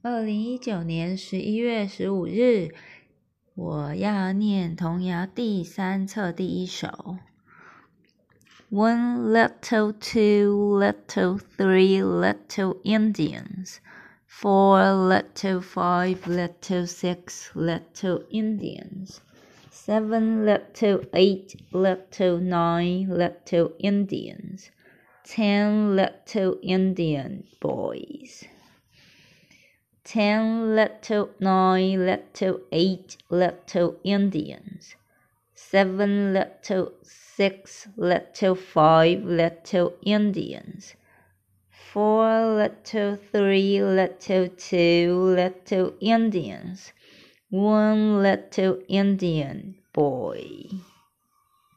2019年11月15日，我要念童谣第3册第1首。One little, 2 little, 3 little Indians. 4 little, 5 little, 6 little Indians. 7 little, 8 little, 9 little Indians. 10 little Indian boys. 10 little, 9 little, 8 little Indians. 7 little, 6 little, 5 little Indians. 4 little, 3 little, 2 little Indians. 1 little Indian boy.